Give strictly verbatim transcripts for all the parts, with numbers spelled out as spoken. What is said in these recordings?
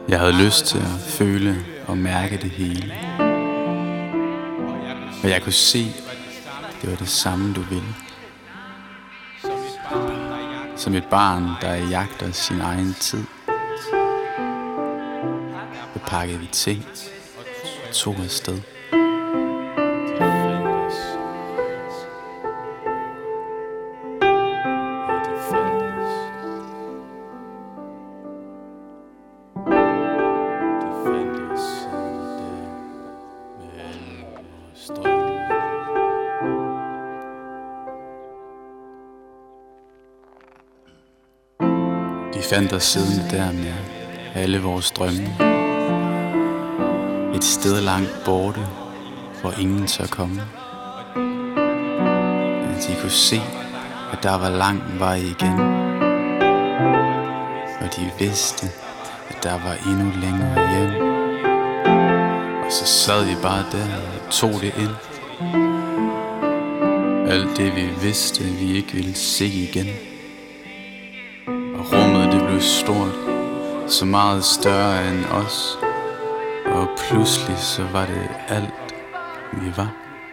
Jeg havde lyst til at føle og mærke det hele. Og jeg kunne se, det var det samme du ville. Som et barn, der jagter sin egen tid. Så pakkede vi ting og tog afsted. De fandt os siddende der med alle vores drømme. Et sted langt borte, hvor ingen tør komme. Men de kunne se, at der var lang vej igen. Og de vidste, at der var endnu længere hjem. Og så sad vi bare der og tog det ind. Alt det vi vidste, vi ikke ville se igen. Og rummet det blev stort, så meget større end os. Og pludselig så var det alt vi var.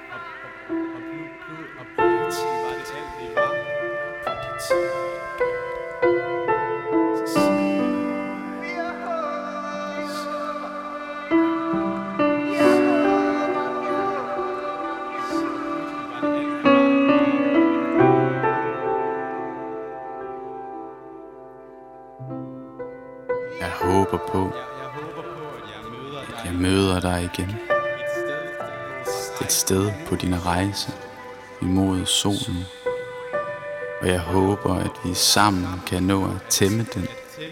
Jeg håber på, at jeg møder dig igen. Et sted på din rejse imod solen. Og jeg håber, at vi sammen kan nå at tæmme den.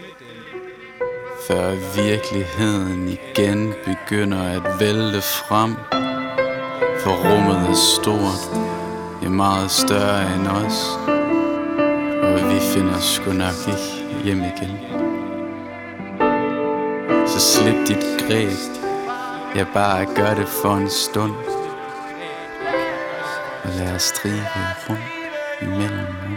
Før virkeligheden igen begynder at vælte frem. For rummet er stort, det er meget større end os. Og vi finder sgu nok ikke hjem igen. Så slip dit greb, jeg bare gør det for en stund. Og lad os stribe rundt imellem dem.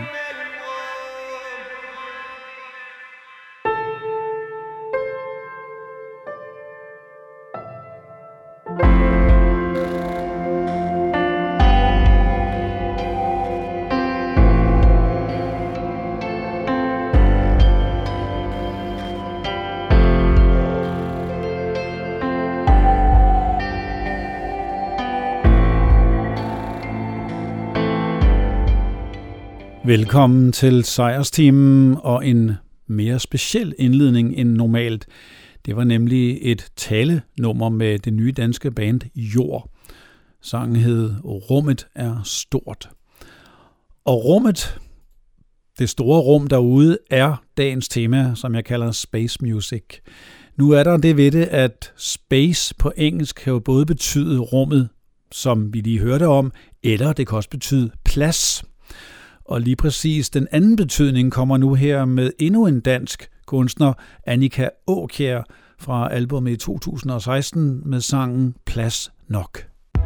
Velkommen til Sejrsteamen og en mere speciel indledning end normalt. Det var nemlig et talenummer med det nye danske band Jord. Sangen hed Rummet er stort. Og rummet, det store rum derude, er dagens tema, som jeg kalder Space Music. Nu er der det ved det, at space på engelsk kan jo både betyde rummet, som vi lige hørte om, eller det kan også betyde plads. Og lige præcis den anden betydning kommer nu her med endnu en dansk kunstner, Annika Aakjær, fra albumet i to tusind og seksten med sangen Plads Nok.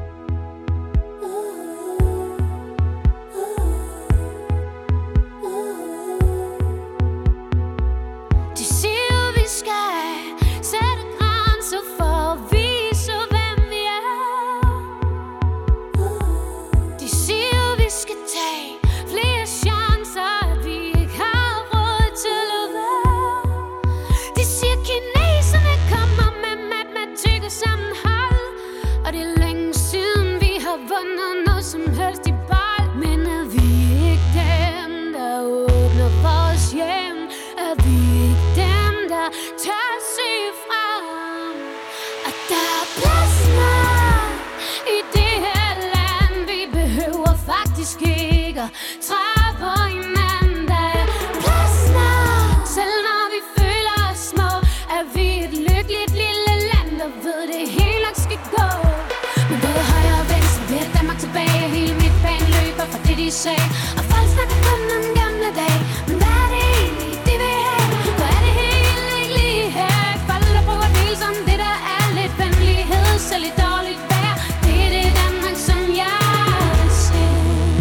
Og folk snakker kun om gamle dage. Men hvad er det egentlig, de vil have? Hvad er det hele ikke lige her? Folk der bruger bil som det der er lidt venlighed. Selv i dårligt vejr. Det er det Danmark, som jeg ser.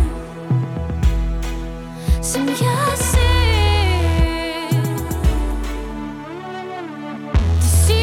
Som jeg ser. De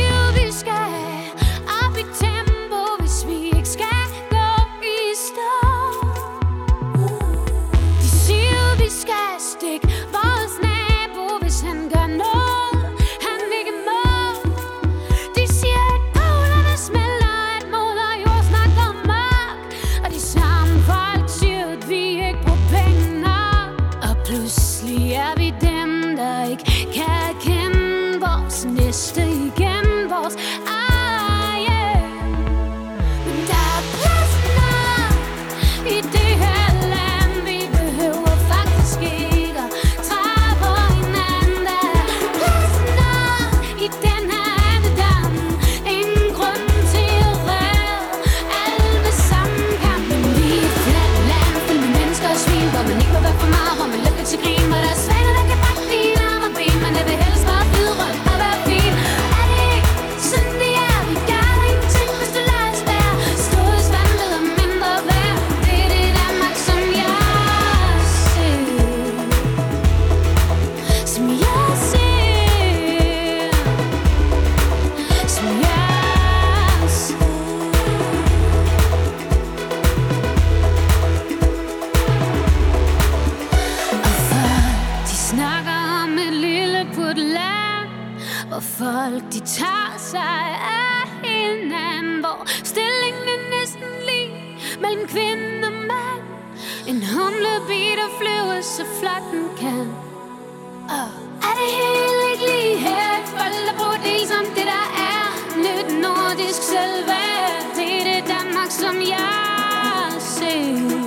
hvor folk de tager sig af hinanden, hvor stillingen er næsten lige mellem kvinde og mand. En humlebi, der flyver så flot den kan. Oh. Er det helt ikke lige her? Folk der bruger del som det der er nyt nordisk selvværd. Det er det Danmark, som jeg ser,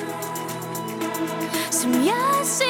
som jeg ser.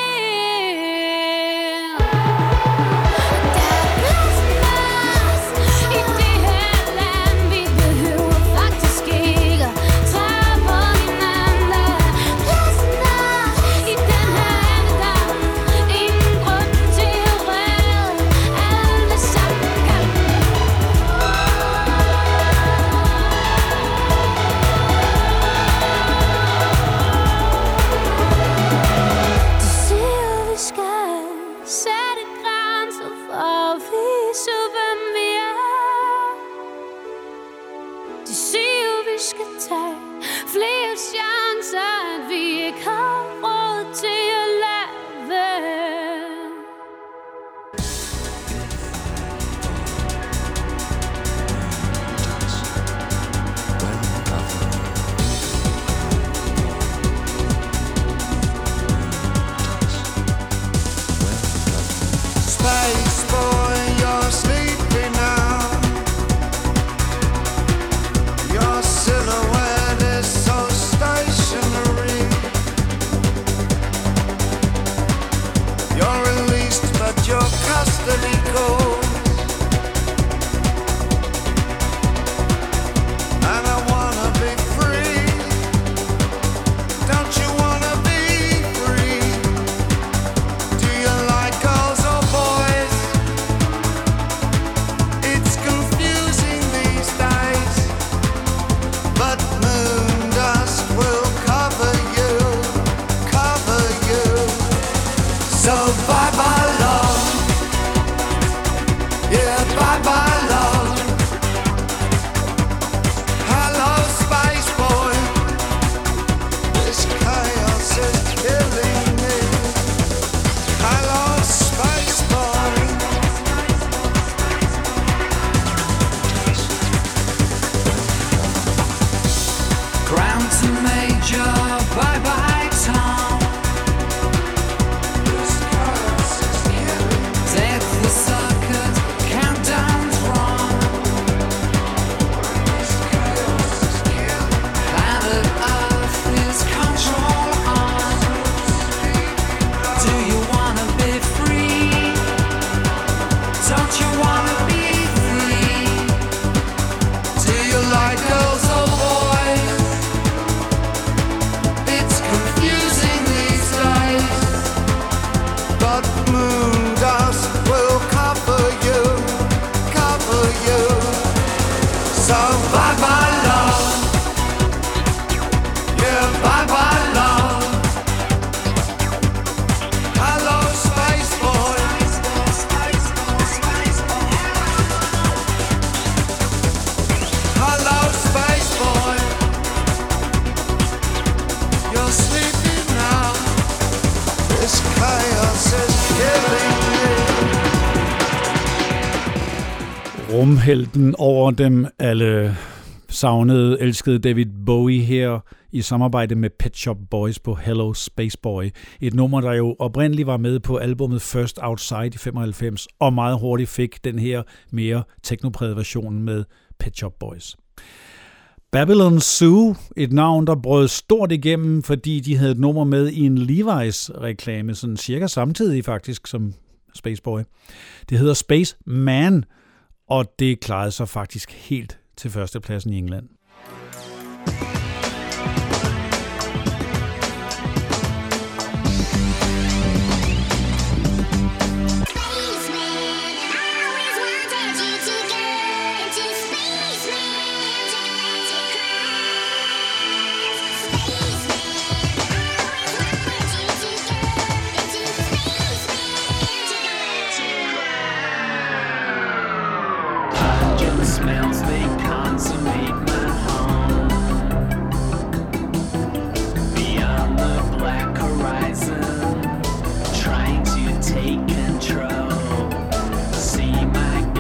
Rumhelten over dem alle savnede, elskede David Bowie her i samarbejde med Pet Shop Boys på Hello Space Boy. Et nummer, der jo oprindeligt var med på albumet First Outside i femoghalvfems, og meget hurtigt fik den her mere teknoprægede version med Pet Shop Boys. Babylon Zoo, et navn, der brød stort igennem, fordi de havde et nummer med i en Levi's-reklame, sådan cirka samtidig faktisk som Space Boy. Det hedder Space Man, og det klarede sig faktisk helt til førstepladsen i England. Smells they consummate my home. Beyond the black horizon, trying to take control. See my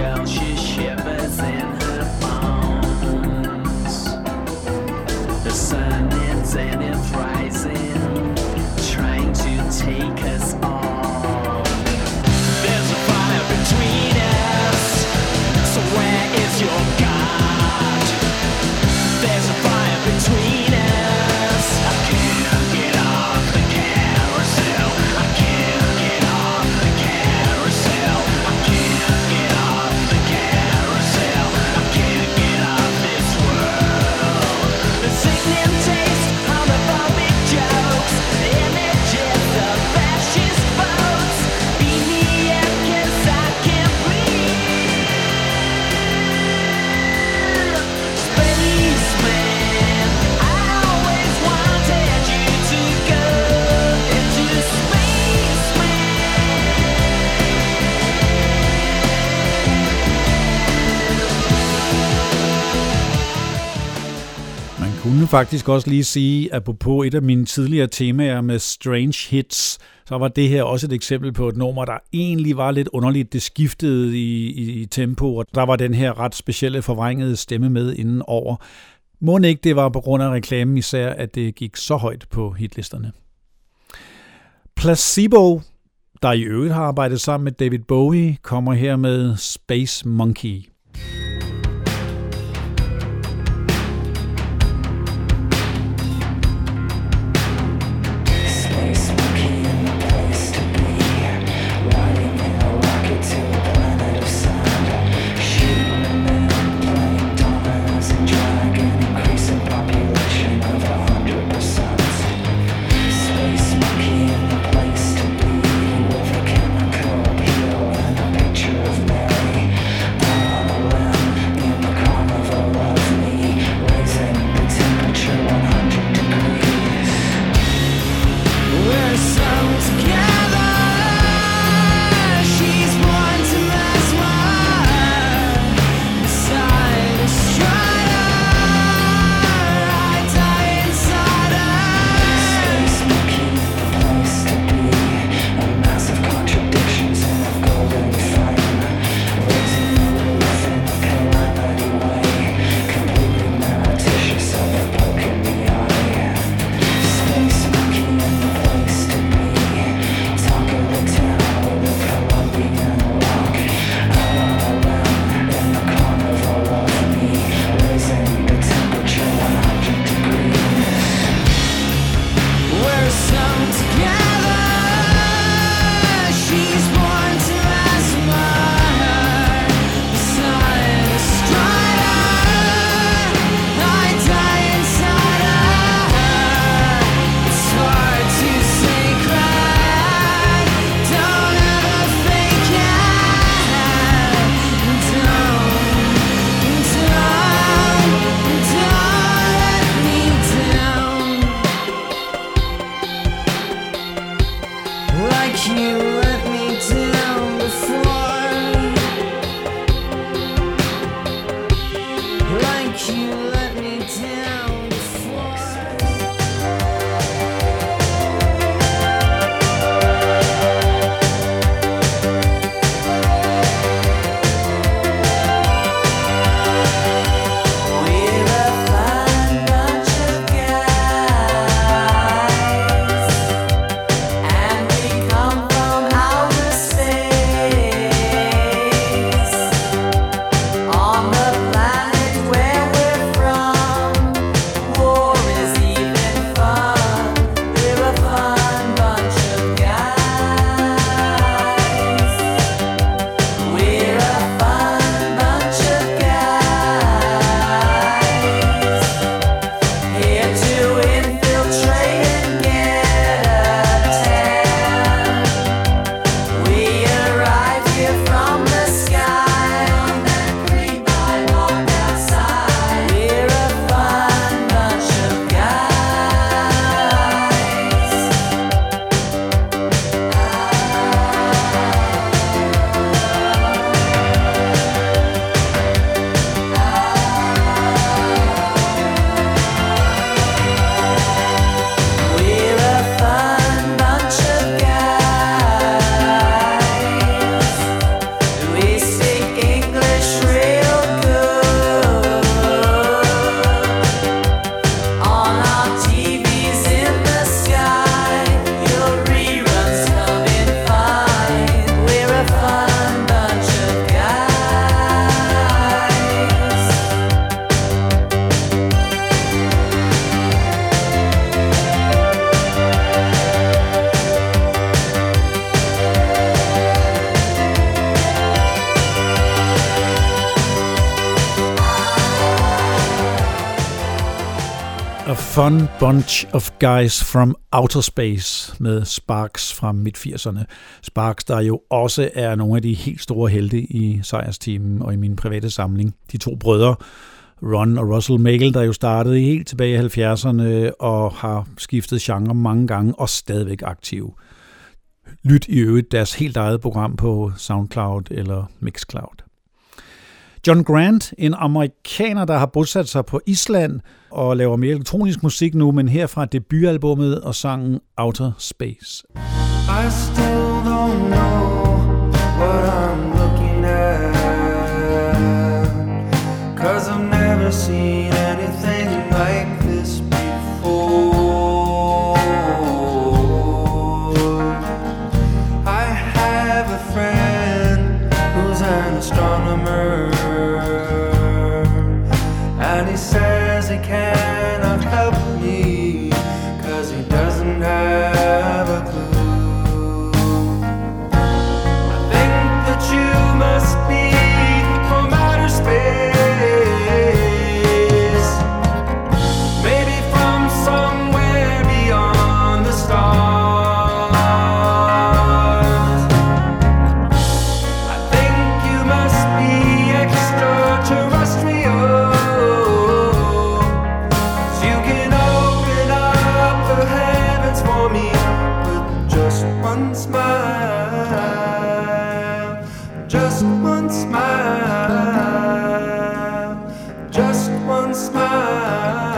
kunne faktisk også lige sige, at på et af mine tidligere temaer med Strange Hits, så var det her også et eksempel på et nummer, der egentlig var lidt underligt. Det skiftede i, i, i tempo, og der var den her ret specielle forvrængede stemme med inden over. Må ikke det var på grund af reklamen især, at det gik så højt på hitlisterne. Placebo, der i øvrigt har arbejdet sammen med David Bowie, kommer her med Space Monkey. Fun Bunch of Guys from Outer Space med Sparks fra midt firserne. Sparks, der jo også er nogle af de helt store helte i sejrsteamen og i min private samling. De to brødre, Ron og Russell Meigel, der jo startede helt tilbage i halvfjerdserne og har skiftet genre mange gange og stadigvæk aktive. Lyt i øvrigt deres helt eget program på SoundCloud eller Mixcloud. John Grant, en amerikaner, der har bosat sig på Island og laver mere elektronisk musik nu, men herfra debutalbummet og sangen Outer Space. I still don't know what I'm looking at, 'cause I've never seen anything like this before. I have a friend who's an astronomer, and he says he cannot help me 'cause he doesn't have a clue. You must be from outer space, maybe from somewhere beyond the stars. I think you must be extraterrestrial, 'cause you can open up the heavens for me with just one smile. Just one smile, just one smile.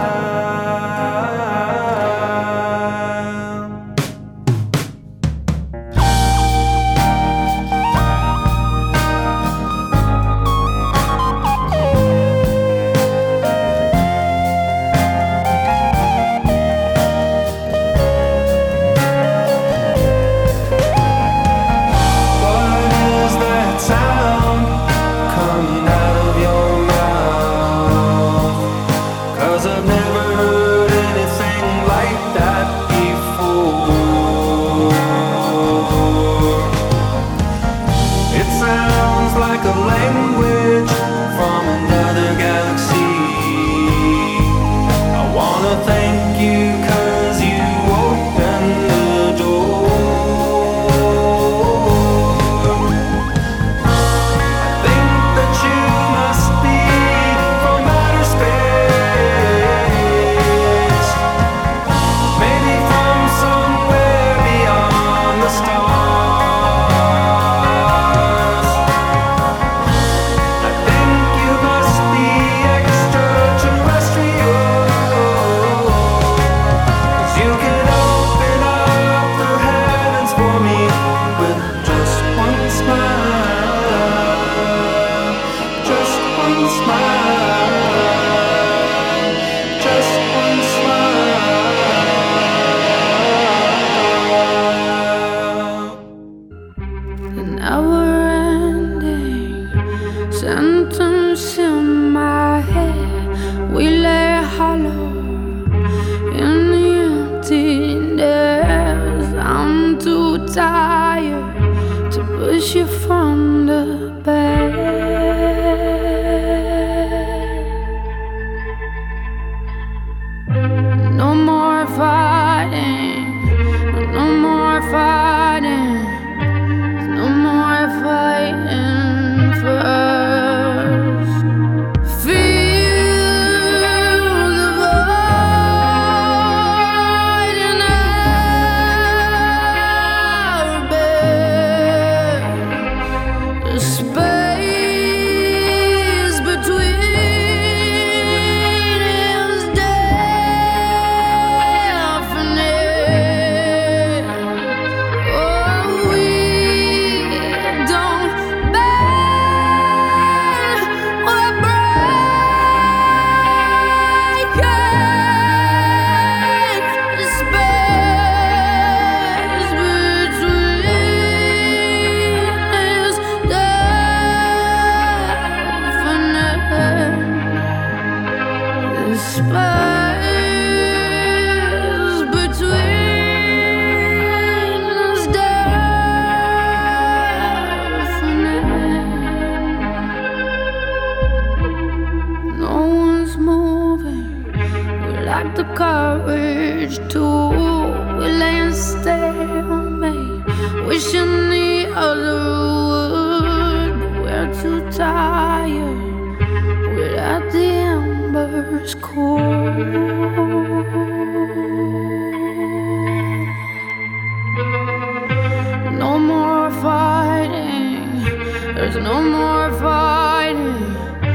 No more fighting, there's no more fighting.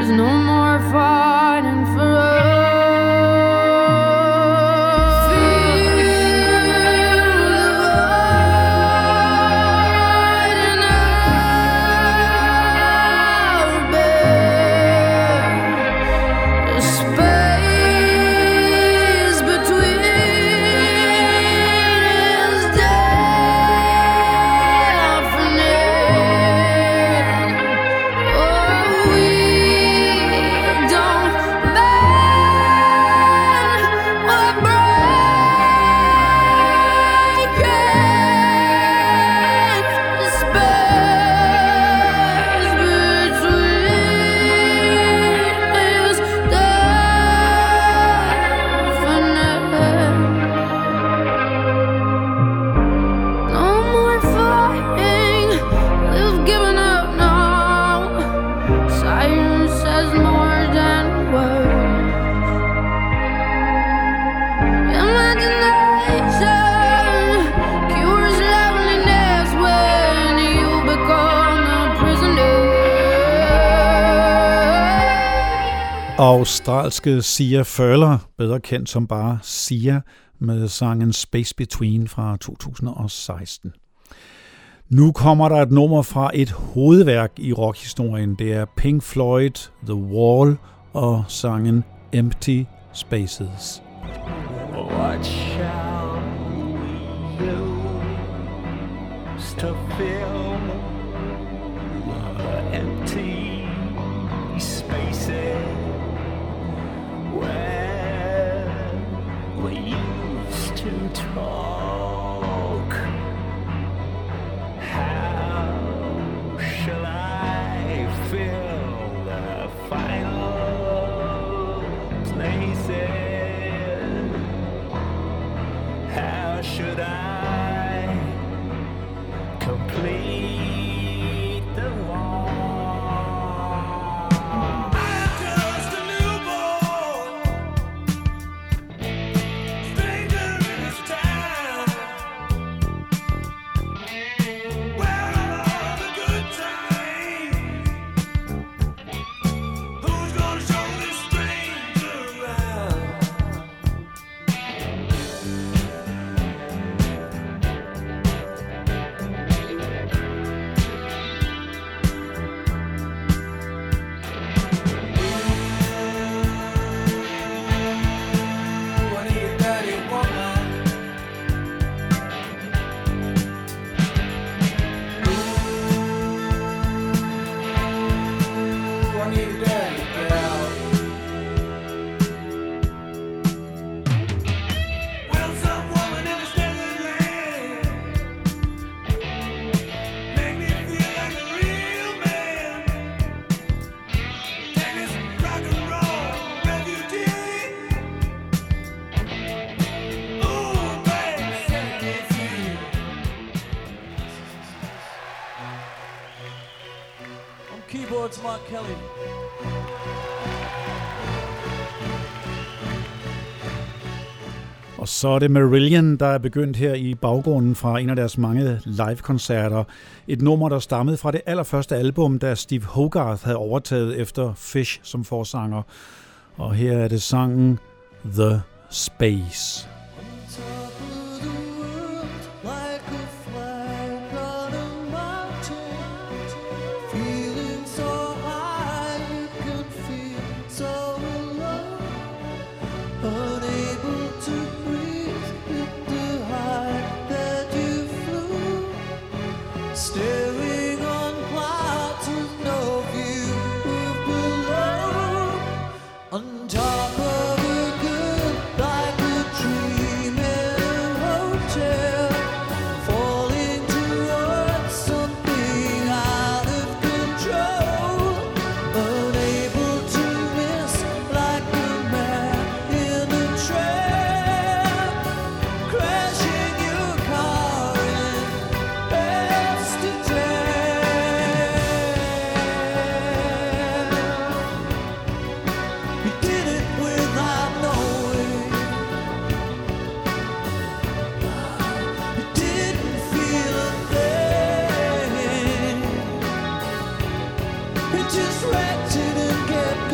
There's no more fighting for us. Australske Sia Furler, bedre kendt som bare Sia, med sangen Space Between fra to tusind og seksten. Nu kommer der et nummer fra et hovedværk i rockhistorien. Det er Pink Floyd, The Wall og sangen Empty Spaces. What shall we use to fill the empty spaces where we used to talk? How shall I fill the final places? How should I complete the wall? I'm just a newborn stranger in this town. Where are all the good times? Who's gonna show this stranger around? Keyboards, Mark Kelly. Og så er det Marillion, der er begyndt her i baggrunden fra en af deres mange live-koncerter. Et nummer, der stammede fra det allerførste album, da Steve Hogarth havde overtaget efter Fish som forsanger. Og her er det sangen The Space. Just wretched and get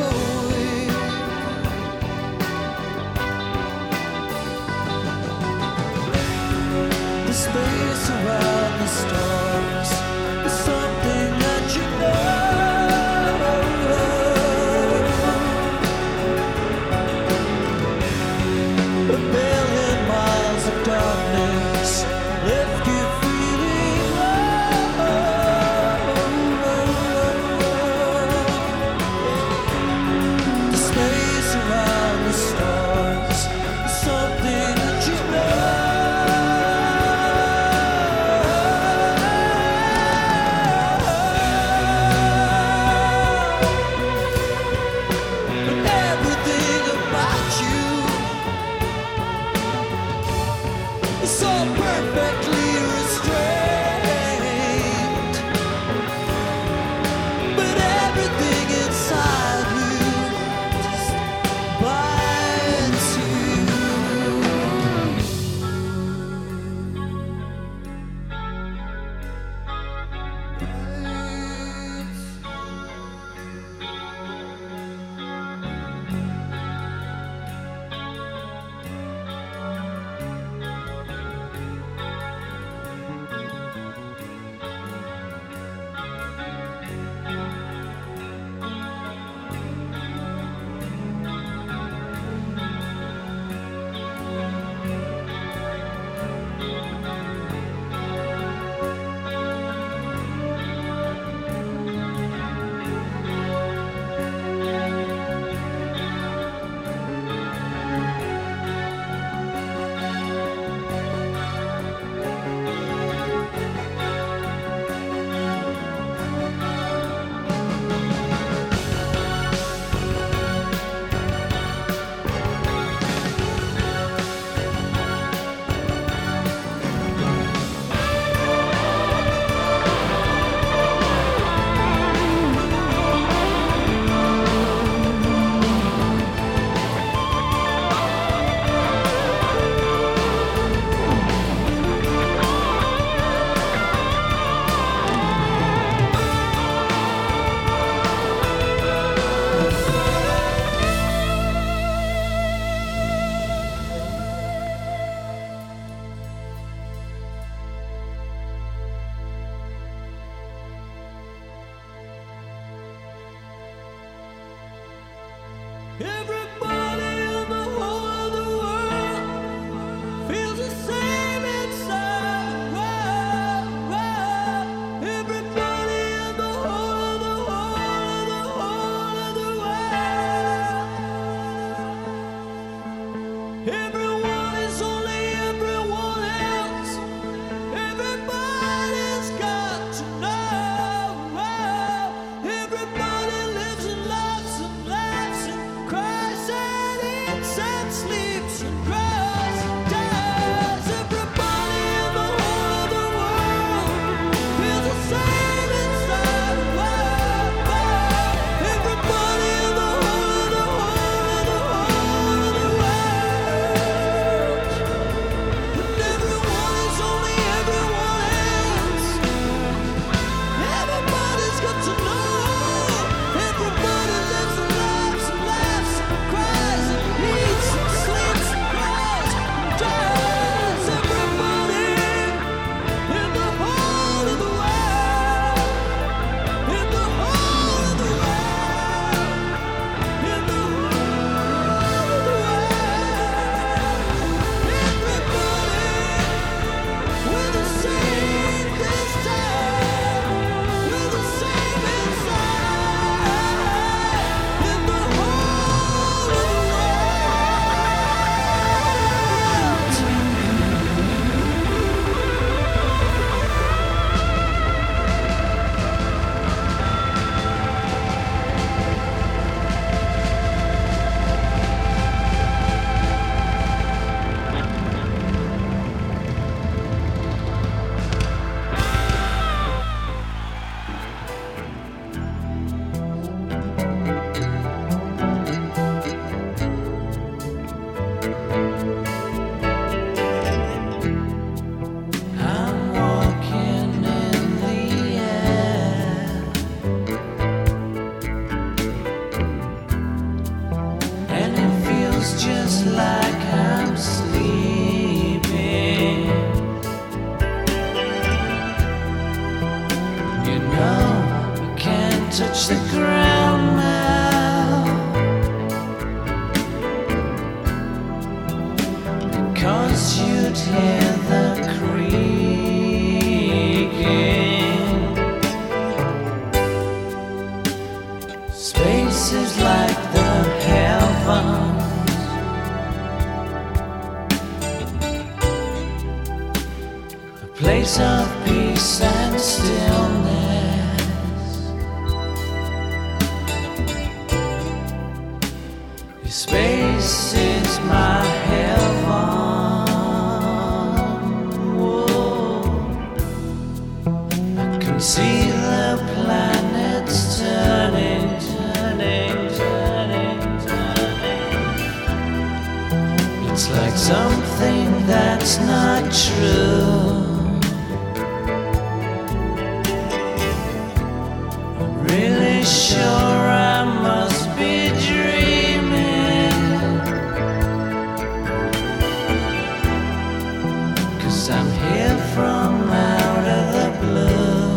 Everybody in the whole of the world feels the same inside the world. Everybody in the whole of the whole of the whole of the world. Everyone is only everyone else. Everybody's got to know. Everybody lives and loves and laughs and cries and eats and sleeps and grows and dies. Everybody in the whole of the world feels the same inside the world. Everybody in the whole of the whole of the whole of the world. But everyone is only everyone else. Everybody's got to know. Everybody lives and loves and laughs and cries and eats and sleeps and grows and dies. Everybody in the whole of the world. In the whole of the world. In the whole of the world. Everybody we're the same this time. We're the same inside. In the whole of the I'm walking in the air, and it feels just like I'm sleeping. You know, we can't touch the ground now, because you'd hear the creaking. Space is like the heavens. A place of peace and stillness. Space is my heaven. Whoa. I can see the planets turning, turning, turning, turning. It's like something that's not true. I'm really sure I must be dreaming, 'cause I'm here from out of the blue.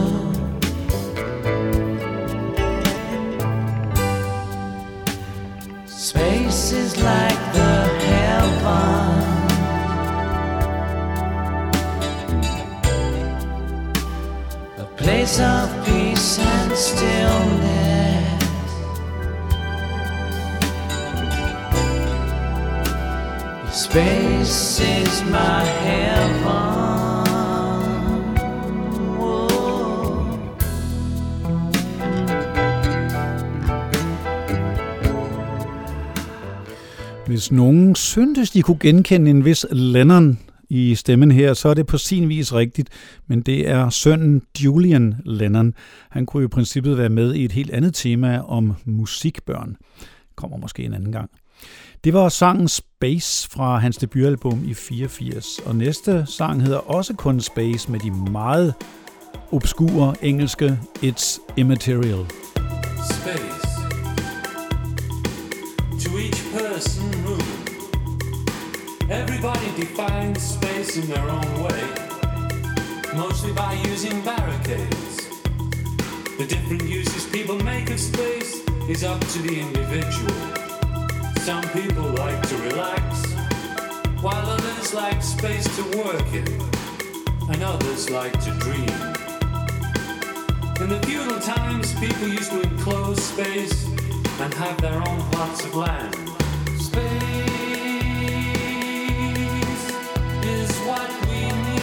Space is like the heavens. A place of peace and stillness. Space is my heaven. Whoa. Hvis nogen syntes, de kunne genkende en vis Lennon i stemmen her, så er det på sin vis rigtigt, men det er sønnen Julian Lennon. Han kunne i princippet være med i et helt andet tema om musikbørn. Kommer måske en anden gang. Det var sangen Space fra hans debutalbum i fireogfirs, og næste sang hedder også kun Space med de meget obskure engelske It's Immaterial. Space. To each person room. Everybody defines space in their own way, mostly by using barricades. The different uses people make of space is up to the individual. Some people like to relax, while others like space to work in, and others like to dream. In the feudal times, people used to enclose space and have their own plots of land. Space is what we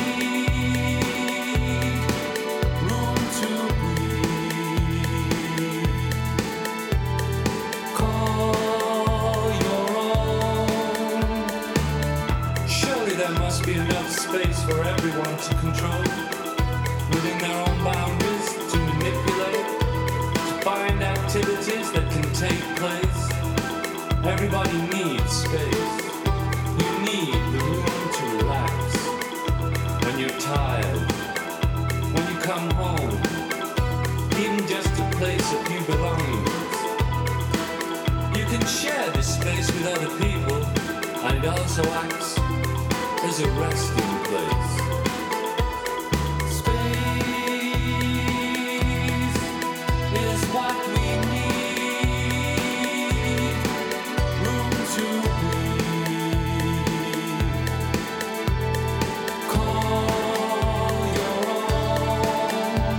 need, room to breathe. Call your own. Surely there must be enough space for everyone to control, within their own boundaries, to manipulate, to find activities that can take place. Everybody needs space. You need the room to relax. When you're tired, when you come home, even just to place a few belongings. You can share this space with other people, and it also acts as a resting place. Space is what we need, room to breathe. Call your own.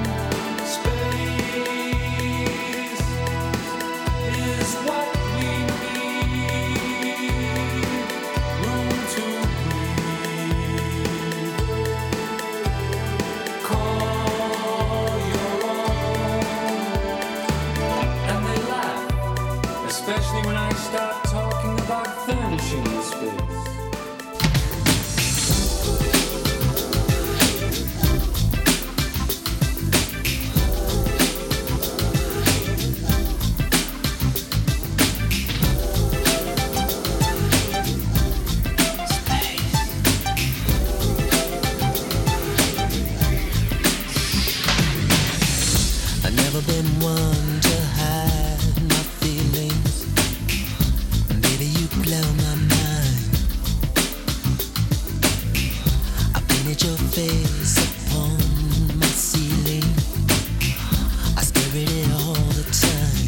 Space is what we need, room to breathe. Call your own. And they laugh, especially when I start talking about furnishing the space. I've never been one to hide my feelings. Baby, you blow my mind. I painted your face upon my ceiling. I stare at it all the time.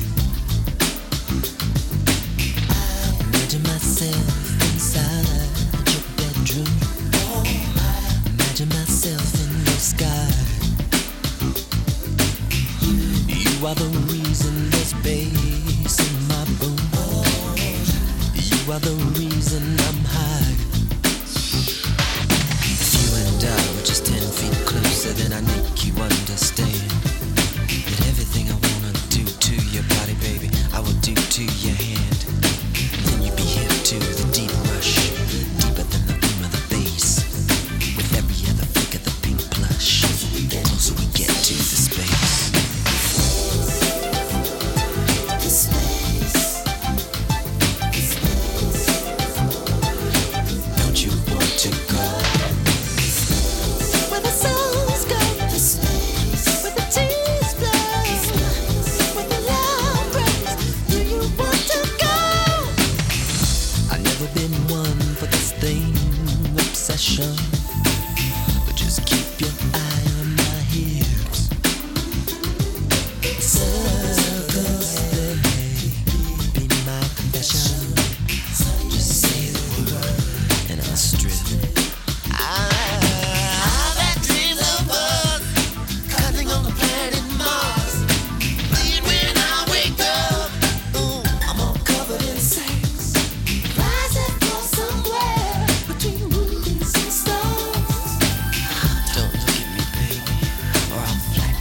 Imagine myself inside your bedroom. Imagine myself in your sky. You are the reason there's bass in my boom. You are the reason I'm high. If you and I were just ten feet closer, then I make you understand that everything I wanna do to your body, baby, I will do to your hand. Then you'd be hip to the deep rush, deeper than the boom of the bass, with every other flick of the pink plush. The closer we get to the space. Don't you want to go? Where the souls go, where the tears flow, where the love breaks. Do you want to go? I've never been one for this thing, obsession. But just keep your eye on my hips. Circles, they may be my confession. Just say the word and I'll strip. I've had dreams of us cuddling on the planet Mars. But when I wake up, ooh, I'm all covered in sex. Rising from somewhere between movies and stars. Don't look at me, baby, or I'll flex.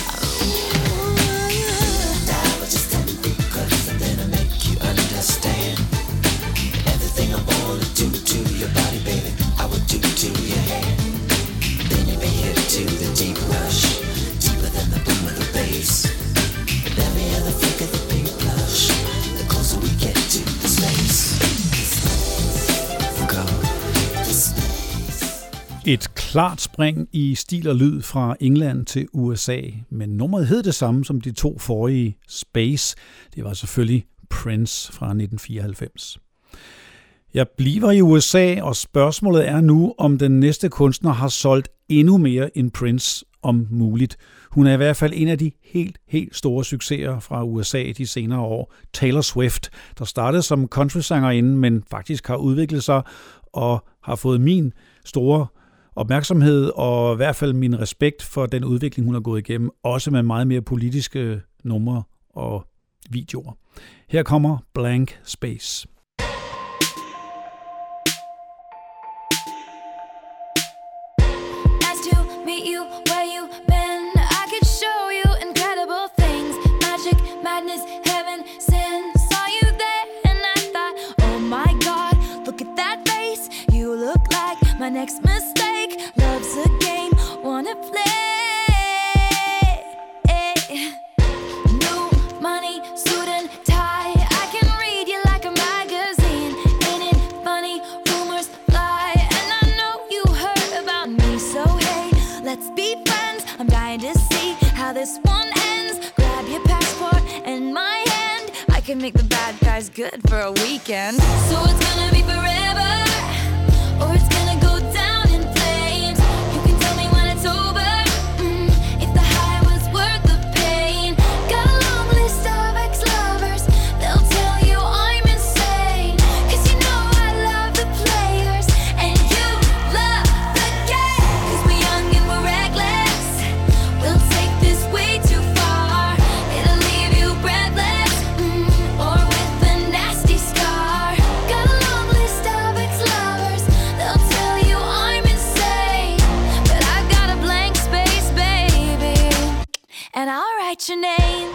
I was just ten feet close, and then I make you understand. Everything I wanna do to your body, baby, I would do to your hand. Then you'd be hip to the deep rush, deeper than the boom of the bass. With every other flick of the pink blush, the closer we get to the space. Go. Et klart spring i stil og lyd fra England til U S A, men nummeret hed det samme som de to forrige, Space. Det var selvfølgelig Prince fra nitten fireoghalvfems. Jeg bliver i U S A, og spørgsmålet er nu, om den næste kunstner har solgt endnu mere end Prince, om muligt. Hun er i hvert fald en af de helt, helt store succeser fra U S A de senere år. Taylor Swift, der startede som countrysangerinde, men faktisk har udviklet sig og har fået min store opmærksomhed og i hvert fald min respekt for den udvikling, hun har gået igennem, også med meget mere politiske numre og videoer. Her kommer Blank Space. Nice to meet you, where you been? I could show you incredible things. Magic, madness, heaven, sin. Saw you there and I thought, oh my God, look at that face. You look like my next mistake. Love's a game, wanna play. New money, suit and tie. I can read you like a magazine. Ain't it funny? Rumors fly, and I know you heard about me. So hey, let's be friends. I'm dying to see how this one ends. Grab your passport and my hand. I can make the bad guys good for a weekend. So it's gonna be forever, or it's gonna go down in flames. You can tell me when it's over, mm, if the high was worth the pain. Got a long list of ex-lovers, they'll tell you I'm insane. Cause you know I love the players, and you love the game. Cause we're young and we're reckless, we'll take this way too far. It'll leave you breathless, mm, or with a nasty scar. Got a long list of ex-lovers, they'll tell you I'm insane. But I've got a blank space, baby, and I'll write your name.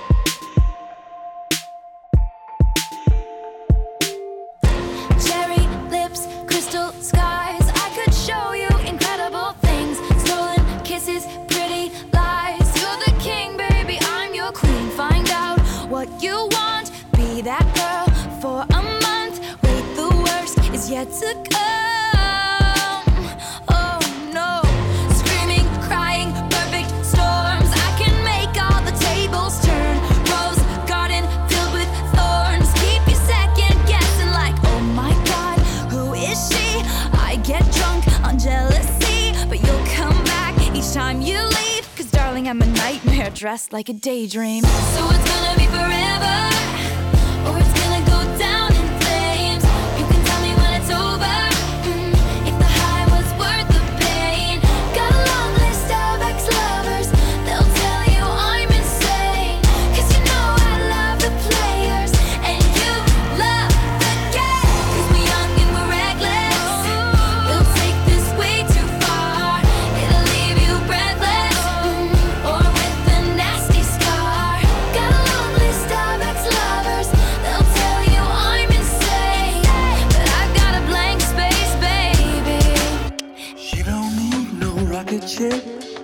Cherry lips, crystal skies. I could show you incredible things. Stolen kisses, pretty lies. You're the king, baby, I'm your queen. Find out what you want, be that girl for a month. Wait, the worst is yet to come. Oh no, screaming, crying, perfect storms. I can make all the tables turn. Rose garden filled with thorns. Keep you second guessing like, oh my God, who is she? I get drunk on jealousy, but you'll come back each time you leave. Cause darling, I'm a nightmare dressed like a daydream. So it's gonna be forever, or it's gonna go down in flames. You can tell me when it's over, mm, if the high was worth the pain. Got a long list of ex-lovers, they'll tell you I'm insane. Cause you know I love the players, and you love the game. Cause we're young and we're reckless, we'll take this way too far. It'll leave you breathless, mm, or with a nasty scar. Got a long list of ex-lovers, they'll tell you I'm insane. But I've got a blank space, baby. She don't need no rocket ship.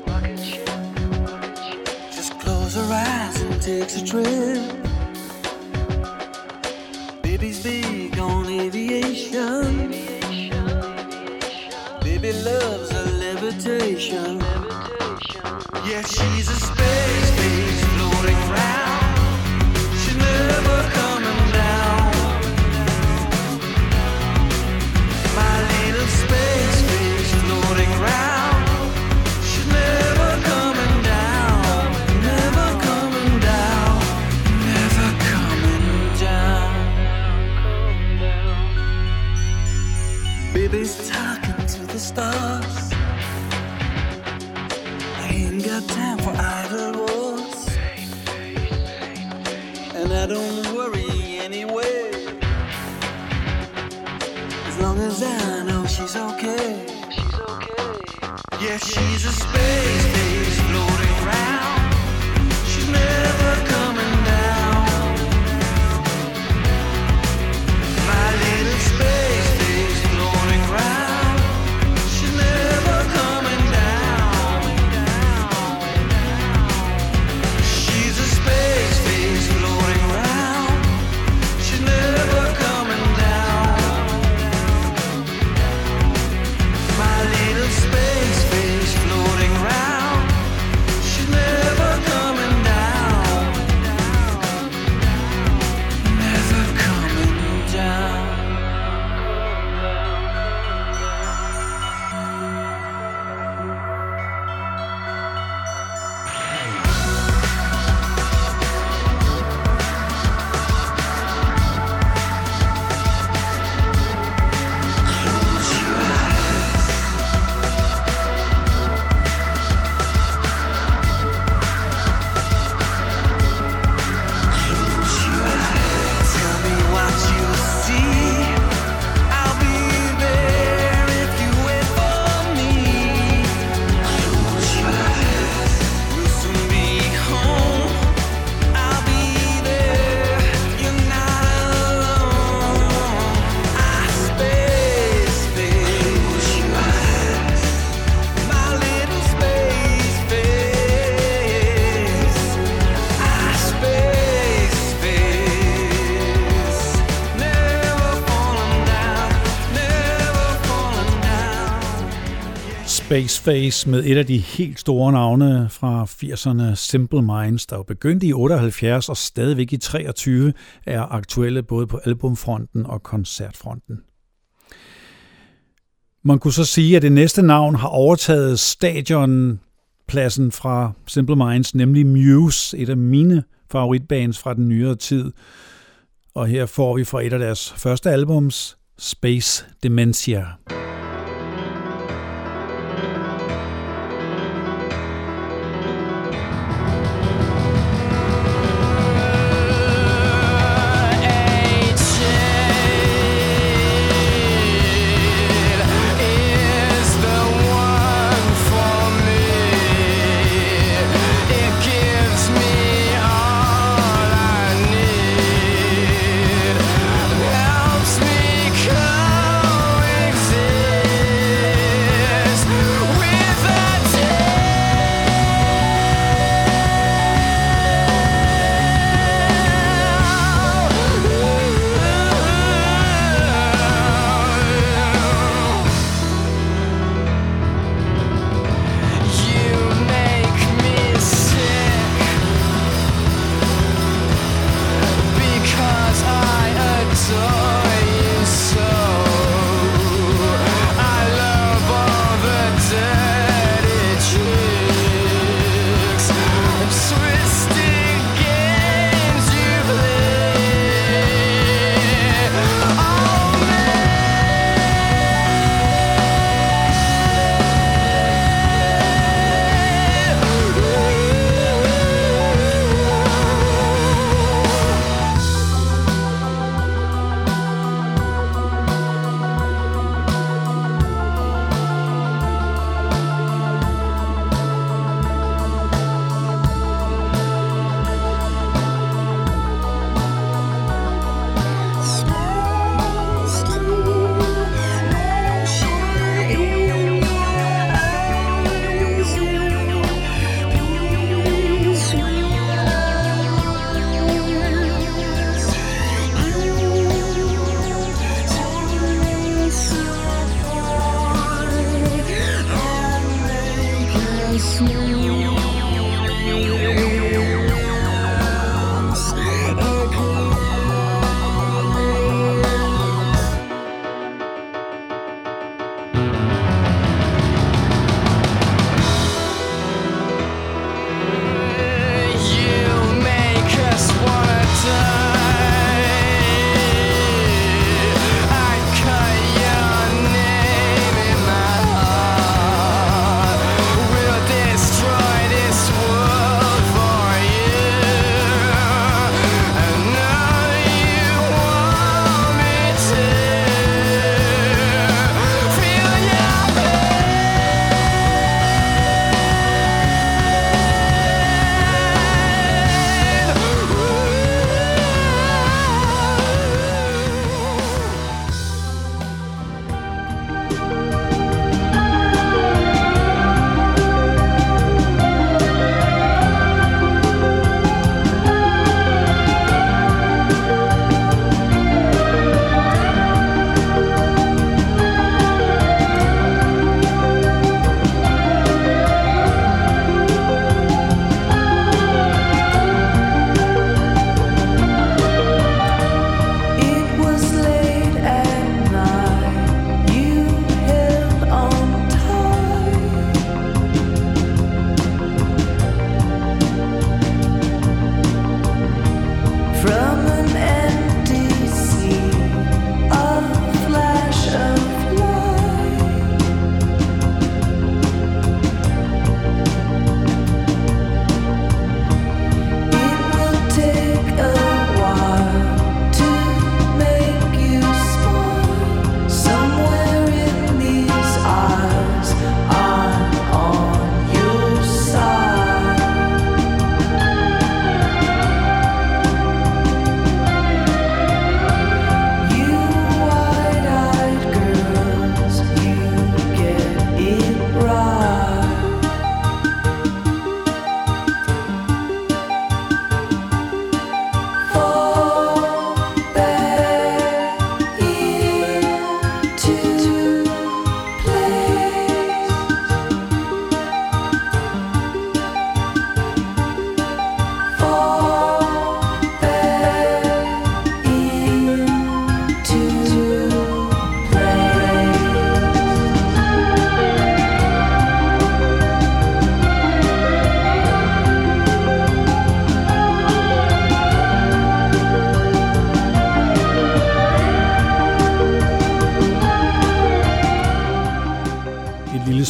Just close her eyes and takes a trip. Baby's big on aviation. Baby loves a levitation. Yeah, she's a space base floating round. She's never coming down. My little space base floating round. She's never coming down. Never coming down. Never coming down. Baby's talking to the stars. I ain't got time for idle words, and I don't worry anyway. As long as I know she's okay. Yeah, she's a space base floating round. She's never coming down. My little space base floating round. She's never coming down. She's a space base floating round. She's never coming down. My little space base floating round. Space Face med et af de helt store navne fra firserne, Simple Minds, der jo begyndte i otteoghalvfjerds og stadigvæk i treogtyve er aktuelle både på albumfronten og koncertfronten. Man kunne så sige, at det næste navn har overtaget stadionpladsen fra Simple Minds, nemlig Muse, et af mine favoritbands fra den nyere tid. Og her får vi fra et af deres første albums, Space Dementia. Helps me coexist.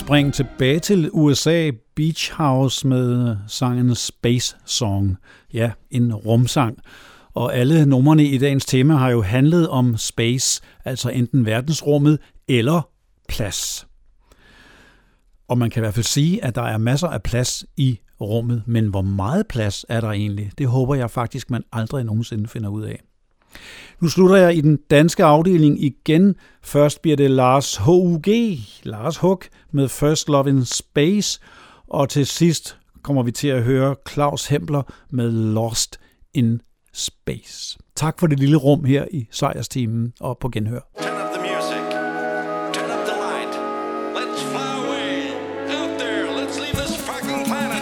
spring tilbage til U S A, Beach House med sangen Space Song. Ja, en rumsang. Og alle numrene i dagens tema har jo handlet om space, altså enten verdensrummet eller plads. Og man kan i hvert fald sige, at der er masser af plads i rummet, men hvor meget plads er der egentlig? Det håber jeg faktisk, man aldrig nogensinde finder ud af. Nu slutter jeg i den danske afdeling igen. Først bliver det Lars H U G, Lars Hug med First Love in Space, og til sidst kommer vi til at høre Claus Hempler med Lost in Space. Tak for det lille rum her i Sejrsteamen og på genhør. Turn up the music. Turn up the light. Let's fly away. Out there. Let's leave this fucking planet.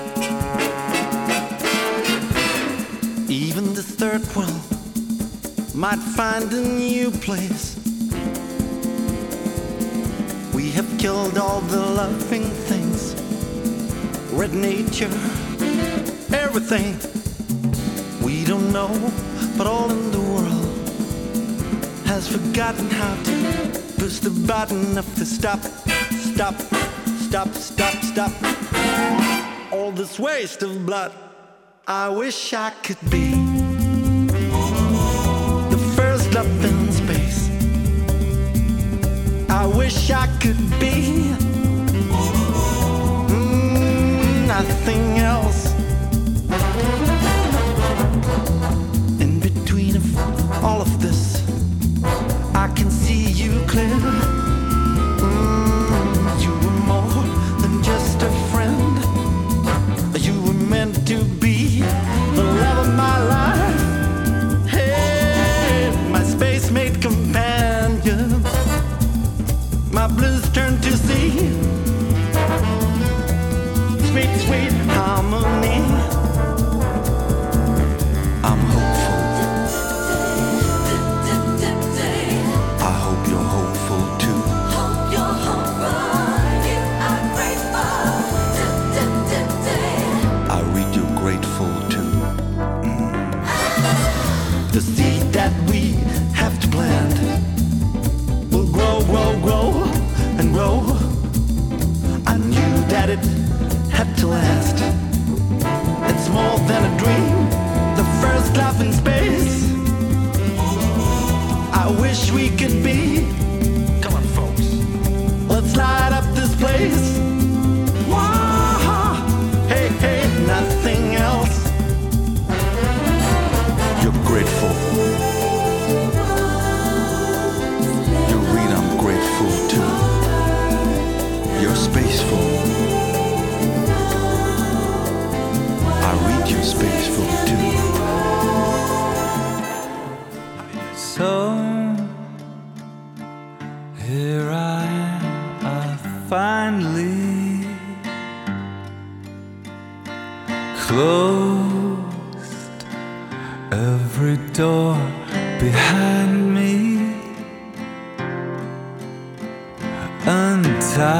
Even the third world might find a new place. We have killed all the loving things. Red nature, everything. We don't know, but all in the world has forgotten how to push the button of the stop, stop, stop, stop, stop. All this waste of blood, I wish I could be the first love in space. I wish I could be mm, nothing else. All of this, I can see you clear. Mm, you were more than just a friend. You were meant to be the love of my life. Hey, my space mate companion. My blues turn to sea. Sweet, sweet harmony. I'm hopeful. The seed that we have to plant will grow, grow, grow, and grow. I knew that it had to last. It's more than a dream, the first love in space. I wish we could be. Come on, folks, let's light up this place. Wow. Hey, hey, nothing else. You're grateful. You read I'm grateful too. You're spaceful. I read you're spaceful too. So here I am, I finally close every door behind me, untied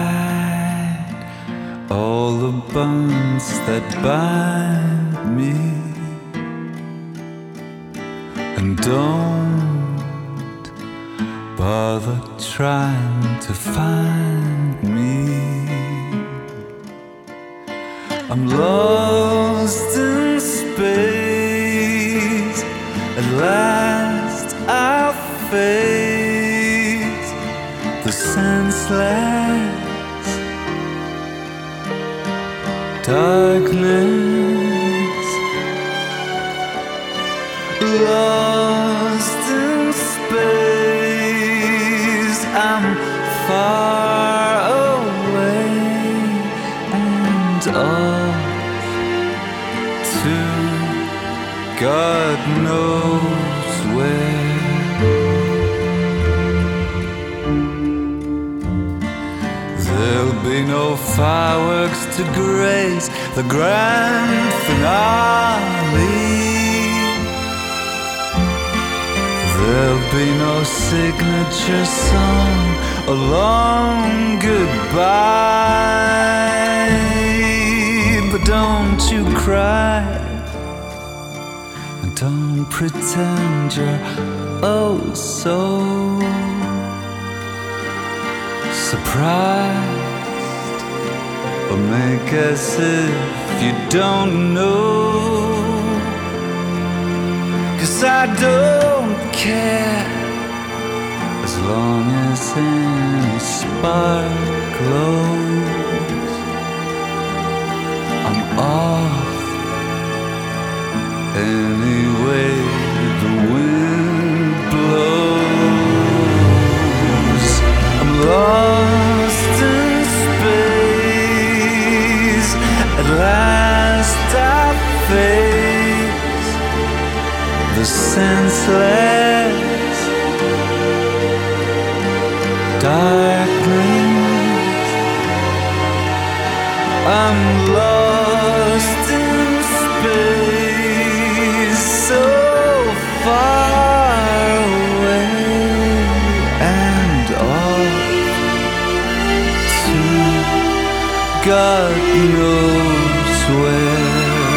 all the bonds that bind me, and don't bother trying to find me. I'm lost in space. At last I'll face the senseless darkness. Lost in space, I'm far away and off to God knows where. There'll be no fireworks to grace the grand finale. There'll be no signature song, a long goodbye. But don't you cry, and don't pretend you're oh so surprised. or make as if you don't know. 'Cause I don't care as long as any spark glows. I'm off anyway the wind blows. I'm lost in space. At last I face the senseless darkness. I'm lost in space, so far away and off to God knows where.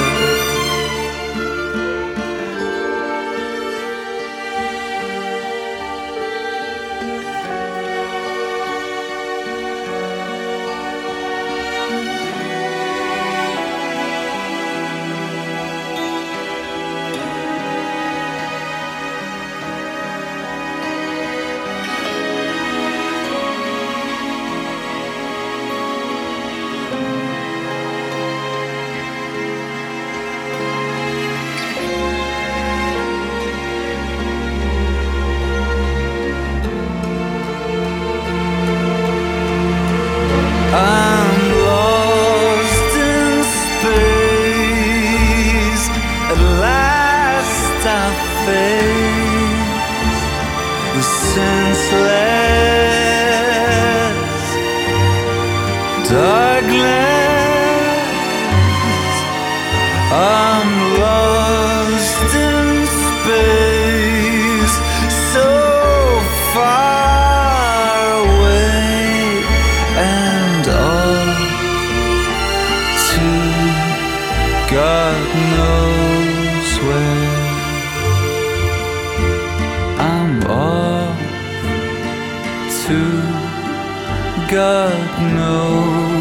I'm lost in space. At last I face the senseless darkness. I'm lost in space, so far away and off to God knows where. I'm off to God knows